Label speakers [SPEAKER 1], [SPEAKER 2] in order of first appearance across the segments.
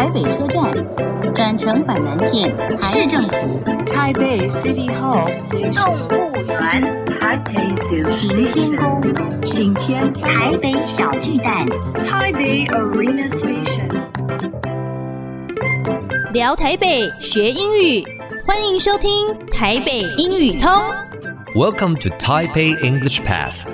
[SPEAKER 1] 台北車站，轉乘板南線市政府、
[SPEAKER 2] 台北 City Hall Station、
[SPEAKER 1] 動物園、行天宮、
[SPEAKER 3] 行天
[SPEAKER 1] 台北小巨蛋、
[SPEAKER 2] 台北 Arena Station。
[SPEAKER 4] 聊台北學英語，歡迎收聽台北英語通。
[SPEAKER 5] Welcome to Taipei English Pass.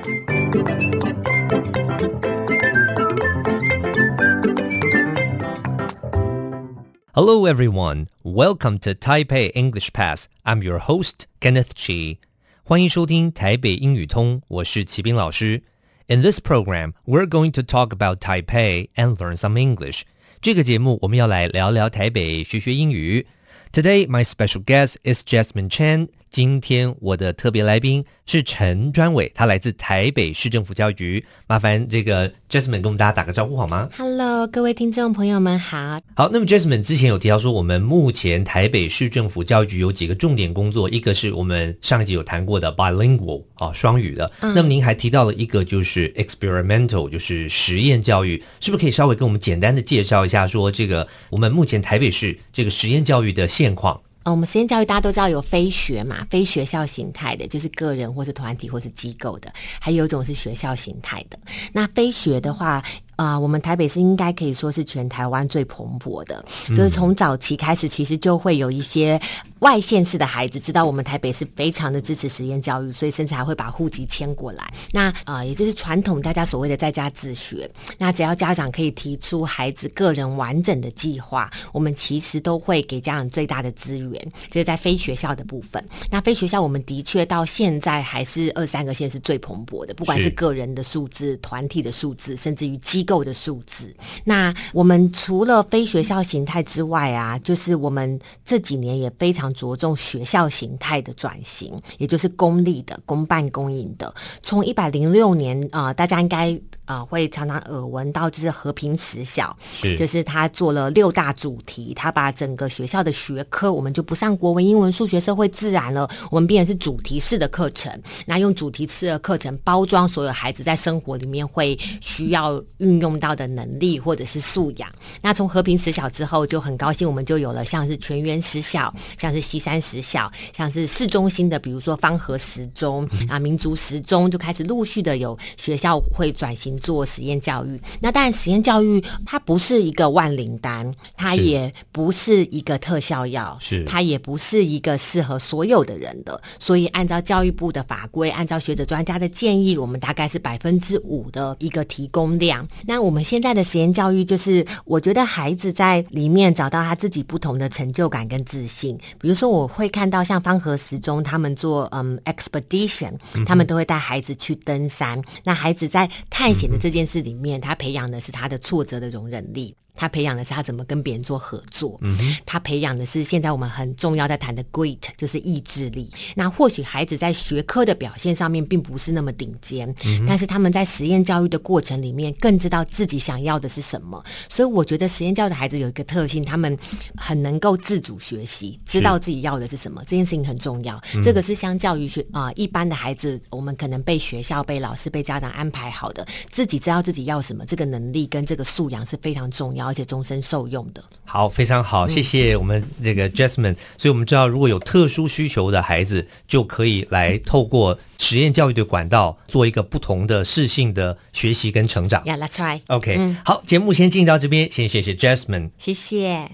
[SPEAKER 5] Hello everyone, welcome to Taipei English Pass. I'm your host, Kenneth Chi. 歡迎收聽台北英語通，我是齊斌老師。In this program, we're going to talk about Taipei and learn some English. 這個節目我們要來聊聊台北，學學英語。Today, my special guest is Jasmine Chen. 今天我的特別來賓是陳專偉，他來自台北市政府教育局。麻煩這個 Jasmine 跟我們大家打個招呼好嗎？
[SPEAKER 3] Hello， 各位聽眾朋友們好。
[SPEAKER 5] 好，那麼 Jasmine 之前有提到說，我們目前台北市政府教育局有幾個重點工作，一個是我們上一集有談過的 bilingual 雙語的。那麼您還提到了一個就是 experimental， 就是實驗教育，是不是可以稍微跟我們簡單的介紹一下，說這個我們目前台北市這個實驗教育的現況？
[SPEAKER 3] 我們實驗教育大家都知道有非學嘛，非學校形態的，就是個人或是团體或是機構的，還有一種是學校形態的。那非學的話，我們台北市應該可以說是全台灣最蓬勃的，就是從早期開始，其實就會有一些外縣市的孩子知道我們台北市非常的支持實驗教育，所以甚至還會把戶籍遷過來。那也就是傳統大家所謂的在家自學。那只要家長可以提出孩子個人完整的計劃，我們其實都會給家長最大的資源。這是在非學校的部分。那非學校我們的確到現在還是23個縣是最蓬勃的，不管是個人的數字、團體的數字，甚至於機構的數字。那我們除了非學校形態之外啊，就是我們這幾年也非常着重學校形態的轉型，也就是公立的、公辦公營的。從106年大家應該會常常耳聞到，就是和平實小，就是他做了6大主題，他把整個學校的學科，我們就不上國文、英文、數學、社會、自然了，我們變成是主題式的課程。那用主題式的課程包裝所有孩子在生活裡面會需要運用到的能力或者是素養。那從和平實小之後，就很高興我們就有了像是全員實小，像是西山實小，像是市中心的，比如說芳和實中民族實中，就開始陸續的有學校會轉型做實驗教育。那當然實驗教育它不是一個萬靈丹，它也不是一個特效藥，它也不是一個適合所有的人的。所以按照教育部的法規，按照學者專家的建議，我們大概是 5% 的一個提供量。那我們現在的實驗教育，就是我覺得孩子在裡面找到他自己不同的成就感跟自信。比如說我會看到像芳和實中他們做expedition， 他們都會帶孩子去登山。那孩子在探險的這件事裡面，他培養的是他的挫折的容忍力，他培養的是他怎麼跟別人做合作，他培養的是現在我們很重要在談的 grit， 就是意志力。那或許孩子在學科的表現上面並不是那麼頂尖，但是他們在實驗教育的過程裡面更知道自己想要的是什麼。所以我覺得實驗教育的孩子有一個特性，他們很能夠自主學習，知道自己要的是什麼，這件事情很重要。這個是相較於一般的孩子，我們可能被學校、被老師、被家長安排好的，自己知道自己要什麼，這個能力跟這個素養是非常重要，而且終身受用的。
[SPEAKER 5] 好，非常好，謝謝我們這個 Jasmine。所以我們知道，如果有特殊需求的孩子，就可以來透過實驗教育的管道，做一個不同的適性的學習跟成長。
[SPEAKER 3] Yeah, that's right.
[SPEAKER 5] OK，好，節目先進到這邊，先謝謝 Jasmine。
[SPEAKER 3] 謝謝。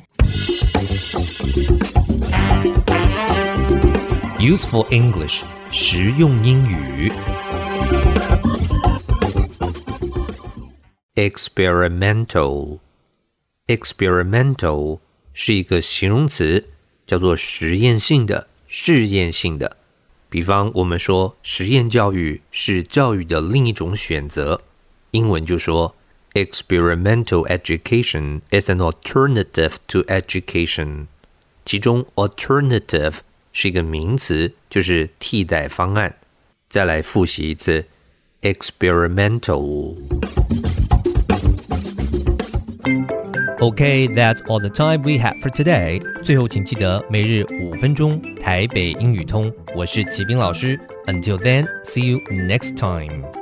[SPEAKER 5] Useful English， 實用英語。Experimental 是一個形容詞，叫做實驗性的、試驗性的。比方我們說實驗教育是教育的另一種選擇，英文就說 Experimental education is an alternative to education。其中 alternative 是一個名詞，就是替代方案。再來複習一次 Experimental。Okay, that's all the time we have for today. 最後請記得每日5分鐘台北英語通，我是齊斌老師。Until then, see you next time.